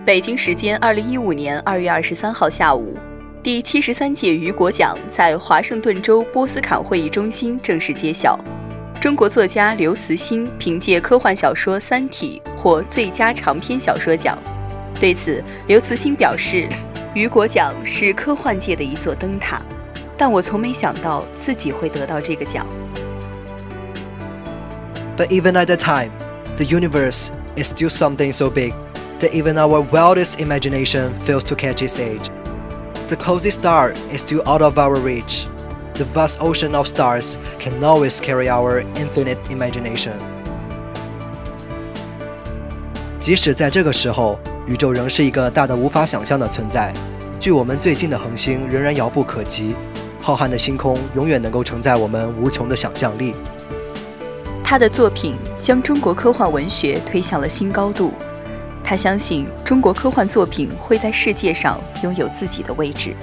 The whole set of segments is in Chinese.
北京时间2015年2月23号下午，第73届雨果奖在华盛顿州波斯坎会议中心正式揭晓。中国作家刘慈欣凭借科幻小说《三体》获最佳长篇小说奖。对此，刘慈欣表示，雨果奖是科幻界的一座灯塔，但我从没想到自己会得到这个奖。 But even at that time, the universe is still something so big that even our wildest imagination fails to catch its age. The closest star is still out of our reach. The vast ocean of stars can always carry our infinite imagination. 即使在这个时候，宇宙仍是一个大得无法想象的存在，距我们最近的恒星仍然遥不可及，浩瀚的星空永远能够承载我们无穷的想象力。 他的作品将中国科幻文学推向了新高度。他相信中国科幻作品会在世界上拥有自己的位置。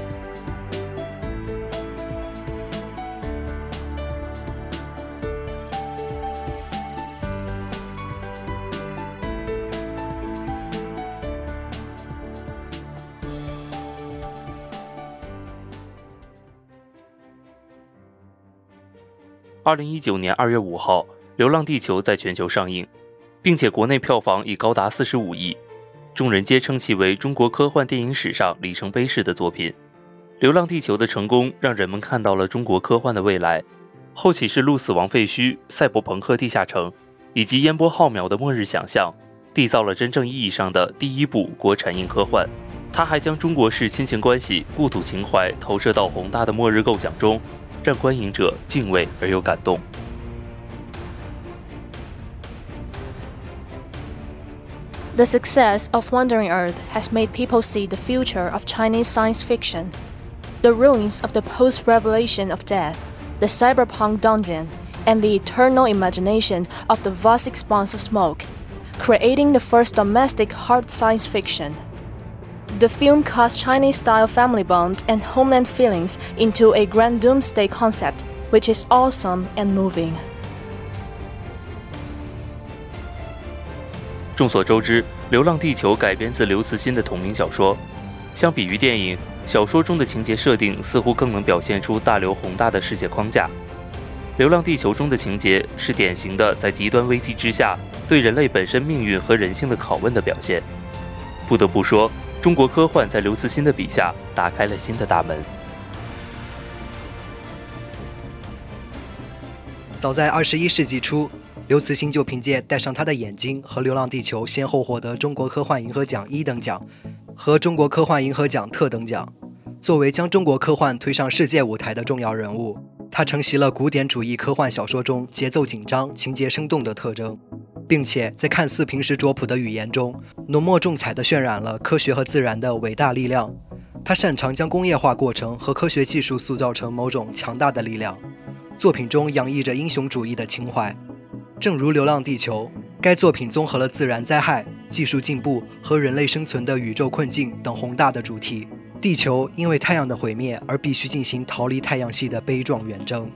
2019年2月5号，《流浪地球》在全球上映，并且国内票房已高达45亿，众人皆称其为中国科幻电影史上里程碑式的作品。《流浪地球》的成功让人们看到了中国科幻的未来，后起是鹿死亡废墟、赛博朋克地下城以及烟波浩渺的末日想象，缔造了真正意义上的第一部国产硬科幻。它还将中国式亲情关系、故土情怀投射到宏大的末日构想中，让观影者敬畏而又感动。 The success of Wandering Earth has made people see the future of Chinese science fiction. The ruins of the post-revelation of death, the cyberpunk dungeon, and the eternal imagination of the vast expanse of smoke, creating the first domestic hard science fiction. The film casts Chinese-style family bonds and homeland feelings into a grand doomsday concept, which is awesome and moving. 众所周知，《流浪地球》改编自刘慈欣的同名小说。相比于电影，小说中的情节设定似乎更能表现出大刘宏大的世界框架。《流浪地球》中的情节是典型的在极端危机之下对人类本身命运和人性的拷问的表现。不得不说，中国科幻在刘慈欣的笔下打开了新的大门。 早在21世纪初，刘慈欣就凭借戴上他的眼睛和《流浪地球》先后获得中国科幻银河奖1等奖和中国科幻银河奖特等奖。作为将中国科幻推上世界舞台的重要人物，他承袭了古典主义科幻小说中节奏紧张、情节生动的特征，并且在看似平实拙朴的语言中，浓墨重彩地渲染了科学和自然的伟大力量。他擅长将工业化过程和科学技术塑造成某种强大的力量，作品中洋溢着英雄主义的情怀。正如《流浪地球》，该作品综合了自然灾害、技术进步和人类生存的宇宙困境等宏大的主题。地球因为太阳的毁灭而必须进行逃离太阳系的悲壮远征。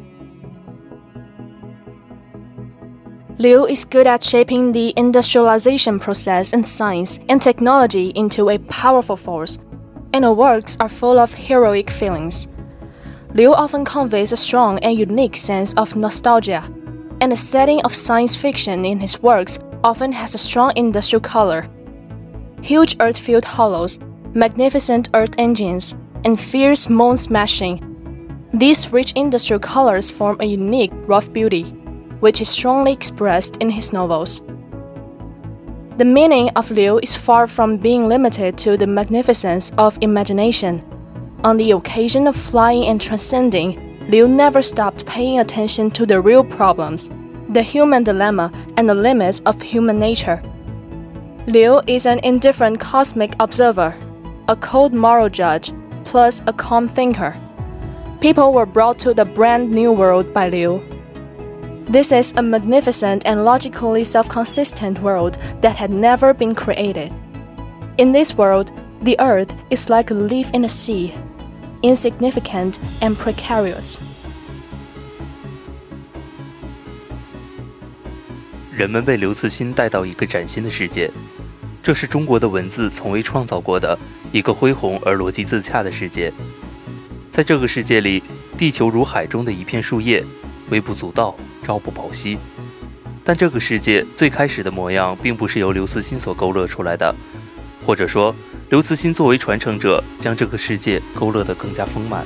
Liu is good at shaping the industrialization process in science and technology into a powerful force, and her works are full of heroic feelings. Liu often conveys a strong and unique sense of nostalgia, and the setting of science fiction in his works often has a strong industrial color. Huge earth-filled hollows, magnificent earth engines, and fierce moon smashing. These rich industrial colors form a unique rough beauty, which is strongly expressed in his novels. The meaning of Liu is far from being limited to the magnificence of imagination. On the occasion of flying and transcending, Liu never stopped paying attention to the real problems, the human dilemma, and the limits of human nature. Liu is an indifferent cosmic observer, a cold moral judge, plus a calm thinker. People were brought to the brand new world by Liu. This is a magnificent and logically self-consistent world that had never been created. In this world, the earth is like a leaf in the sea, insignificant and precarious. 人们被刘慈欣带到一个崭新的世界， 这是中国的文字从未创造过的一个恢宏而逻辑自洽的世界。在这个世界里，地球如海中的一片树叶，微不足道，朝不保夕。但这个世界最开始的模样并不是由刘慈欣所勾勒出来的，或者说刘慈欣作为传承者，将这个世界勾勒得更加丰满。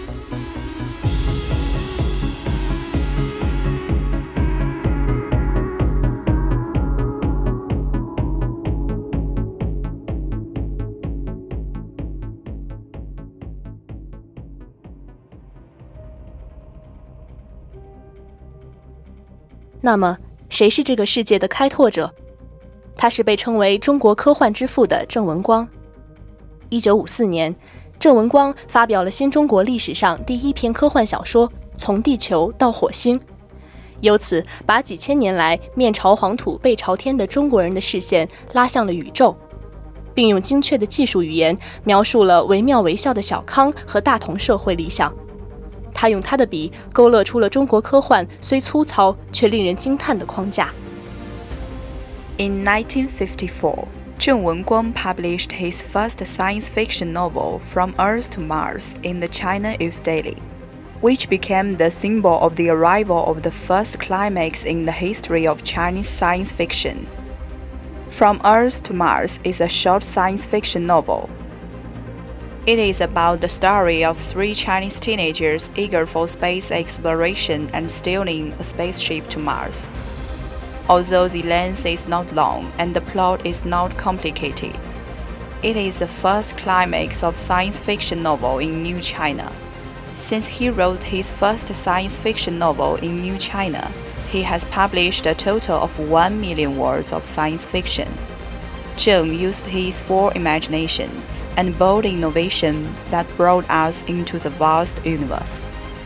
那么，谁是这个世界的开拓者？他是被称为中国科幻之父的郑文光。1954年，郑文光发表了新中国历史上第一篇科幻小说《从地球到火星》，由此把几千年来面朝黄土背朝天的中国人的视线拉向了宇宙，并用精确的技术语言描述了惟妙惟肖的小康和大同社会理想。他用他的笔勾勒出了中国科幻虽粗糙却令人惊叹的框架。 In 1954, Zheng Wenguang published his first science fiction novel, From Earth to Mars, in the China Youth Daily, which became the symbol of the arrival of the first climax in the history of Chinese science fiction. From Earth to Mars is a short science fiction novel. It is about the story of 3 Chinese teenagers eager for space exploration and stealing a spaceship to Mars. Although the length is not long and the plot is not complicated, it is the first climax of science fiction novel in New China. Since he wrote his first science fiction novel in New China, he has published a total of 1 million words of science fiction. Zheng used his full imagination and bold innovation that brought us into the vast universe.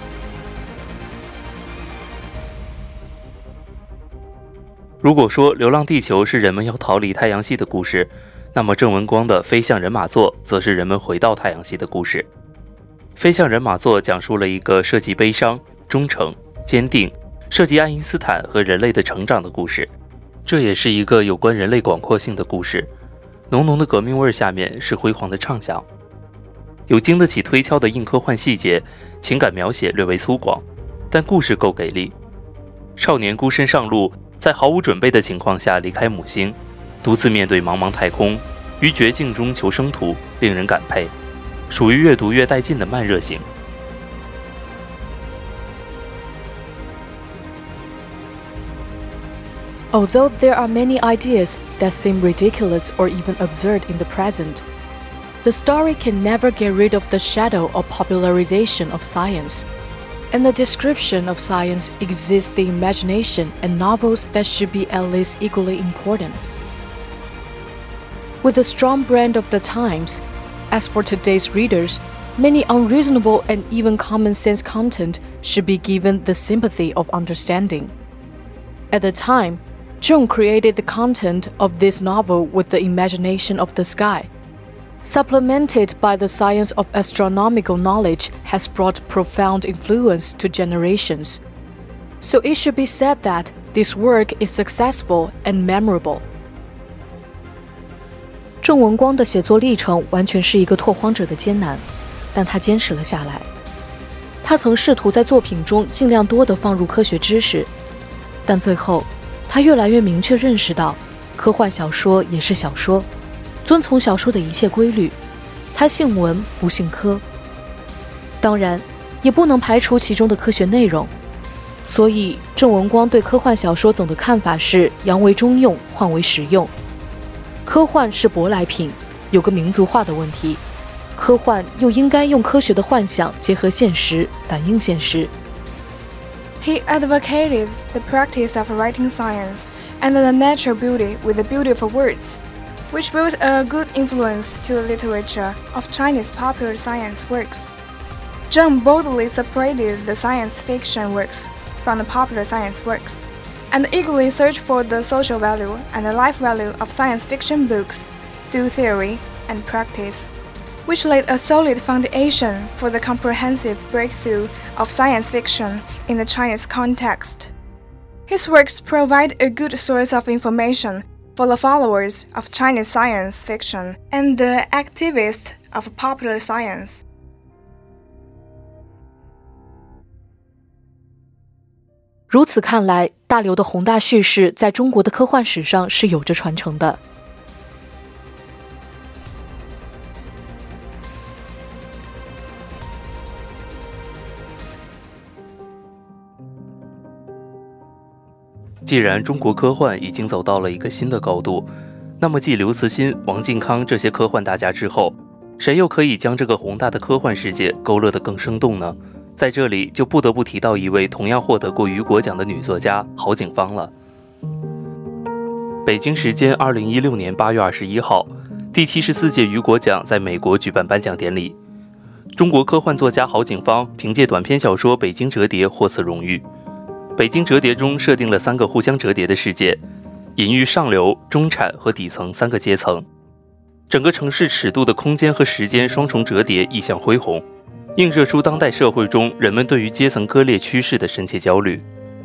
如果说《流浪地球》是人们要逃离太阳系的故事，那么郑文光的《飞向人马座》则是人们回到太阳系的故事。《飞向人马座》讲述了一个涉及悲伤、忠诚、坚定，涉及爱因斯坦和人类的成长的故事。这也是一个有关人类广阔性的故事。浓浓的革命味下面是辉煌的畅想，有经得起推敲的硬科幻细节，情感描写略为粗犷，但故事够给力。少年孤身上路，在毫无准备的情况下离开母星，独自面对茫茫太空，于绝境中求生途，令人感佩，属于越读越带劲的慢热型。 Although there are many ideas that seem ridiculous or even absurd in the present, the story can never get rid of the shadow of popularization of science. In the description of science exists the imagination and novels that should be at least equally important. With the strong brand of the times, as for today's readers, many unreasonable and even common sense content should be given the sympathy of understanding. At the time, Zheng created the content of this novel with the imagination of the sky. Supplemented by the science of astronomical knowledge has brought profound influence to generations. So it should be said that this work is successful and memorable. 郑文光的写作历程完全是一个拓荒者的艰难，但他坚持了下来。他曾试图在作品中尽量多地放入科学知识，但最后他越来越明确认识到，科幻小说也是小说，遵从小说的一切规律。他信文不信科，当然也不能排除其中的科学内容。所以郑文光对科幻小说总的看法是扬为中用，换为实用。科幻是舶来品，有个民族化的问题，科幻又应该用科学的幻想结合现实，反映现实。 He advocated the practice of writing science and the natural beauty with the beauty of words, which brought a good influence to the literature of Chinese popular science works. Zheng boldly separated the science fiction works from the popular science works, and eagerly searched for the social value and the life value of science fiction books through theory and practice, which laid a solid foundation for the comprehensive breakthrough of science fiction in the Chinese context. His works provide a good source of information for the followers of Chinese science fiction and the activists of popular science. 如此看来，大刘的宏大叙事在中国的科幻史上是有着传承的。 既然中国科幻已经走到了一个新的高度，那么继刘慈欣、王靖康这些科幻大家之后，谁又可以将这个宏大的科幻世界勾勒得更生动呢？在这里就不得不提到一位同样获得过雨果奖的女作家郝景芳了。北京时间2016年8月21号，第74届雨果奖在美国举办颁奖典礼。中国科幻作家郝景芳凭借短篇小说《北京折叠》获此荣誉。北京折叠中设定了3个互相折叠的世界，隐喻上流、中产和底层3个阶层。整个城市尺度的空间和时间双重折叠，意象恢宏，映射出当代社会中人们对于阶层割裂趋势的深切焦虑。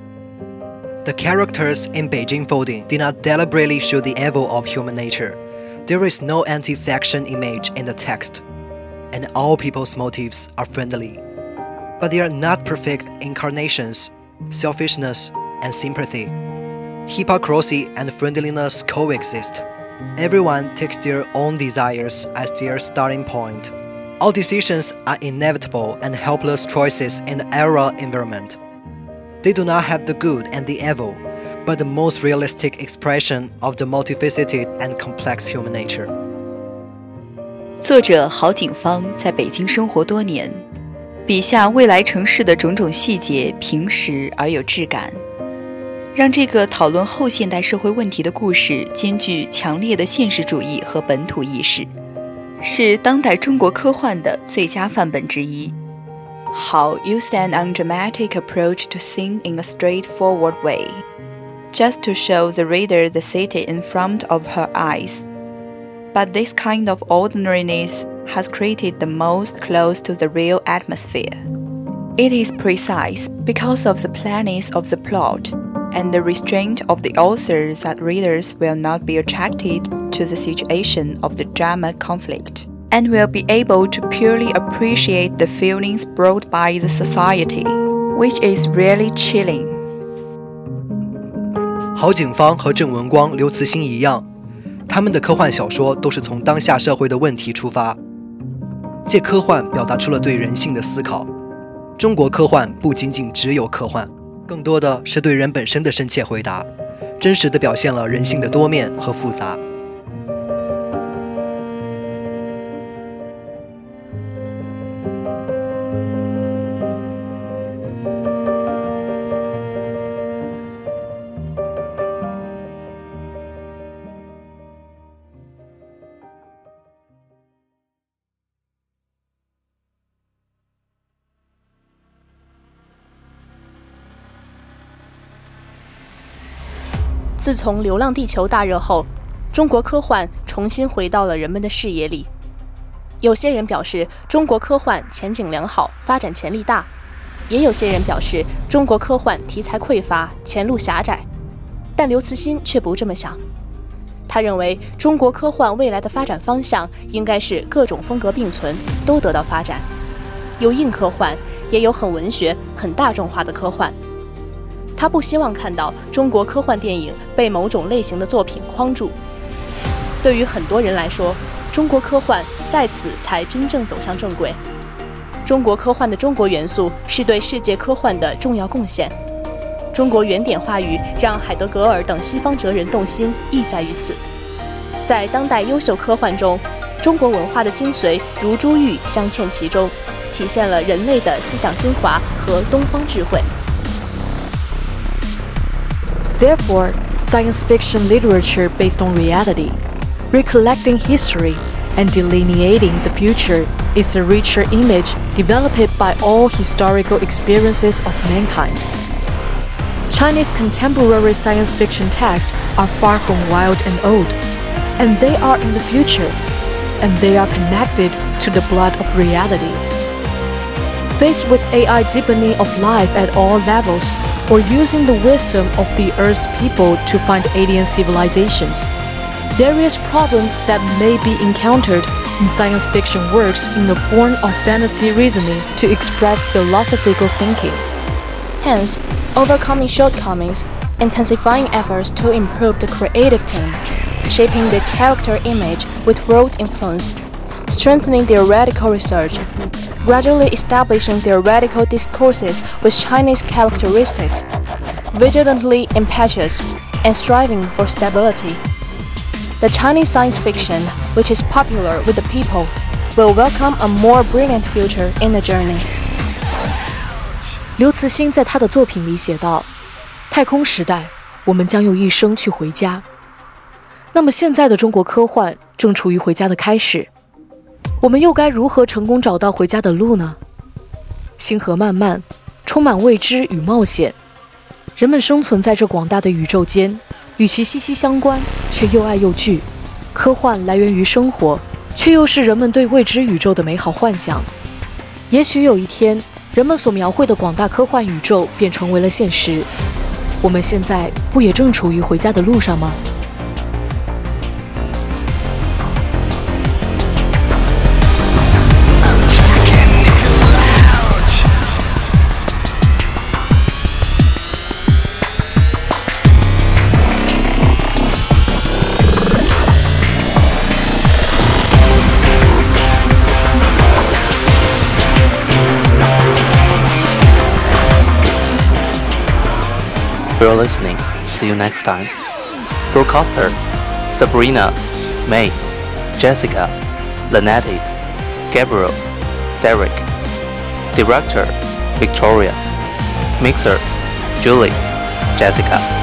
The characters in Beijing Folding did not deliberately show the evil of human nature. There is no anti-faction image in the text, and all people's motives are friendly. But they are not perfect incarnations. Selfishness and sympathy, hypocrisy and friendliness coexist. Everyone takes their own desires as their starting point. All decisions are inevitable and helpless choices in the era environment. They do not have the good and the evil, but the most realistic expression of the multifaceted and complex human nature. 作者郝景芳在北京生活多年，笔下未来城市的种种细节平实而有质感，让这个讨论后现代社会问题的故事兼具强烈的现实主义和本土意识，是当代中国科幻的最佳范本之一。How used an undramatic approach to scene in a straightforward way, just to show the reader the city in front of her eyes. But this kind of ordinariness has created the most close to the real atmosphere. It is precise because of the plainness of the plot and the restraint of the author that readers will not be attracted to the situation of the drama conflict, and will be able to purely appreciate the feelings brought by the society, which is really chilling. 郝景芳和郑文光、刘慈欣一样，他们的科幻小说都是从当下社会的问题出发，借科幻表达出了对人性的思考。中国科幻不仅仅只有科幻，更多的是对人本身的深切回答，真实地表现了人性的多面和复杂。 自从《流浪地球》大热后，中国科幻重新回到了人们的视野里。有些人表示中国科幻前景良好，发展潜力大；也有些人表示中国科幻题材匮乏，前路狭窄。但刘慈欣却不这么想，他认为中国科幻未来的发展方向应该是各种风格并存，都得到发展，有硬科幻，也有很文学、很大众化的科幻。他不希望看到中国科幻电影被某种类型的作品框住。对于很多人来说，中国科幻在此才真正走向正轨。中国科幻的中国元素是对世界科幻的重要贡献。中国原点话语让海德格尔等西方哲人动心，意在于此。在当代优秀科幻中，中国文化的精髓如珠玉镶嵌其中，体现了人类的思想精华和东方智慧。 Therefore, science fiction literature based on reality, recollecting history, and delineating the future is a richer image developed by all historical experiences of mankind. Chinese contemporary science fiction texts are far from wild and old, and they are in the future, and they are connected to the blood of reality. Faced with AI deepening of life at all levels, or using the wisdom of the Earth's people to find alien civilizations. Various problems that may be encountered in science fiction works in the form of fantasy reasoning to express philosophical thinking. Hence, overcoming shortcomings, intensifying efforts to improve the creative team, shaping the character image with world influence, strengthening theoretical research, gradually establishing theoretical discourses with Chinese characteristics, vigilantly impetuous, and striving for stability. The Chinese science fiction, which is popular with the people, will welcome a more brilliant future in the journey. 刘慈欣在他的作品里写道：太空时代，我们将用一生去回家。那么现在的中国科幻正处于回家的开始，我们又该如何成功找到回家的路呢？星河漫漫，充满未知与冒险。人们生存在这广大的宇宙间，与其息息相关，却又爱又惧。科幻来源于生活，却又是人们对未知宇宙的美好幻想。也许有一天，人们所描绘的广大科幻宇宙便成为了现实。我们现在不也正处于回家的路上吗 ？You're listening. See you next time. Broadcaster: Sabrina, May, Jessica, Lanetti, Gabriel, Derek. Director: Victoria. Mixer: Julie, Jessica.